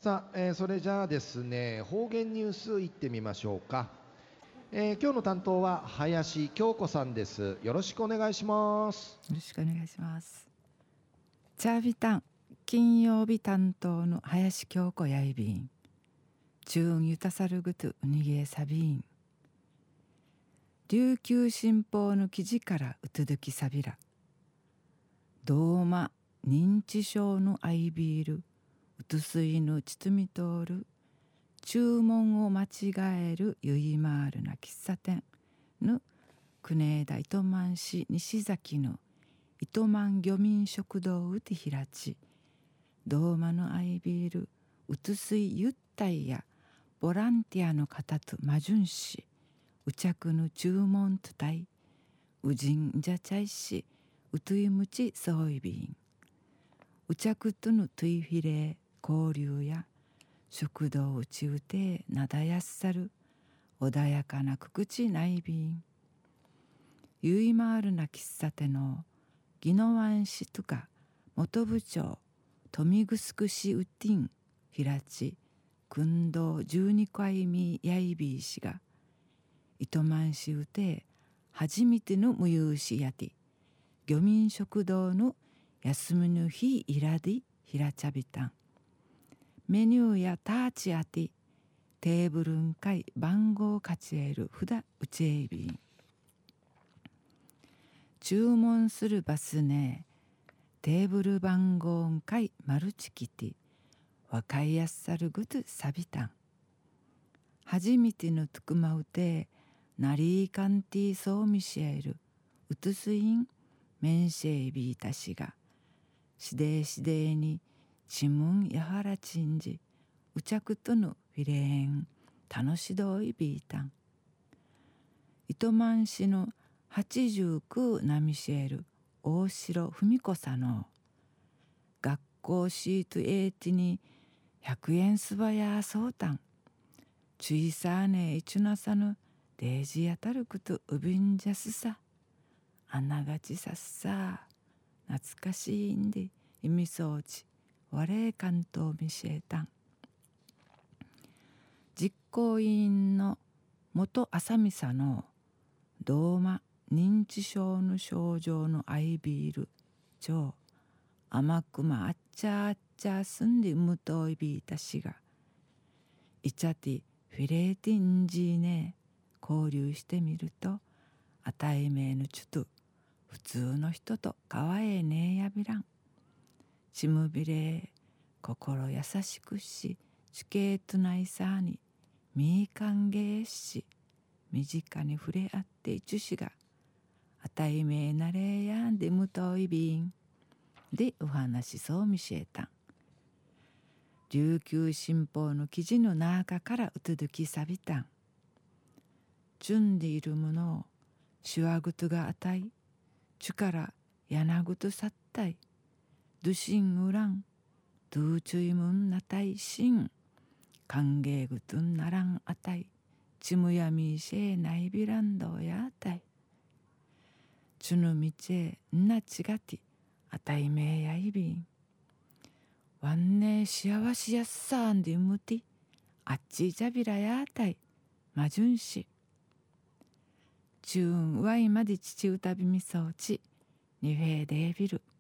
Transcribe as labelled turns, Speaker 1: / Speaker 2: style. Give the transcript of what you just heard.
Speaker 1: さあ、それじゃあですね、方言ニュースいってみましょうか。今日の担当は林京子さんです。よろしくお願いします。
Speaker 2: よろしくお願いします。チャービタン金曜日担当の林京子やいびん。中ゆたさるぐとうにげえさびん。琉球新報の記事からうつづきさびら。ドーマ認知症のアイビール。うつすいのちつみとおる。注文を間違えるゆいまーるな喫茶店の国枝糸満市西崎の糸満漁民食堂うてひらち、ドーマのアイビールうつすいゆったいやボランティアの方とまじゅんし、うちゃくの注文とたい、うじんじゃちゃいし、うといむちそういびん、うちゃくとのといフィレ交流や食堂うちうてなだやっさる穏やかなくくちないびん、ゆいまーるな喫茶店の宜野湾市とか元部長富城市ウッティン平地訓道12回目やいびいしが糸満市うて初めての無有しやて漁民食堂の休みの日いらでひらちゃびたんメニューやターチあてテーブルんかい番号かちえるふだうちえびん、注文するバスねテーブル番号んかいマルチキティわかいやっさるぐとさびたん、初めてのとくまうてなりーかんてぃそうみしえるうつすいんめんしえびいたしがしでしでにちむんやはらちんじうちゃくとのフィレーン楽しどいびいたん、糸満市の89なみしえる大城文子さの学校シートエーティに100円すばやそうたん、ちいさーねいちゅなさぬデージやたるくとうびんじゃすさ、あながちさっさ、懐かしいんで意味そうち、われ関東みしえたん、実行委員の元浅見さのドーマ認知症の症状のアイビール超甘くまあっちゃあっちゃすんでむといびいたしがいちゃてフィレーティンジーね交流してみるとあたいめいのちゅと普通の人とかわえねえやびらんちむびれ心優しくしちけいとないさーにみーかんげーし身近に触れ合っていちゅしがあたいめいなれやんでむといびんでお話そうみしえたん、琉球新報の記事の中からうつづきさびたん、じゅんでいるものをしわぐとがあたいちゅからやなぐとさったいどしんうらんどうちゅいむんなたいしん歓迎ぐとんならんあたいちむやみしえないびらんどやあたいちゅぬみちえんなちがてあたいめやいびんわんねしあわしやっさんでむてあっちいじゃびらやあたいまじゅんしちゅんわいまでちちうたびみそうちにフェーデービル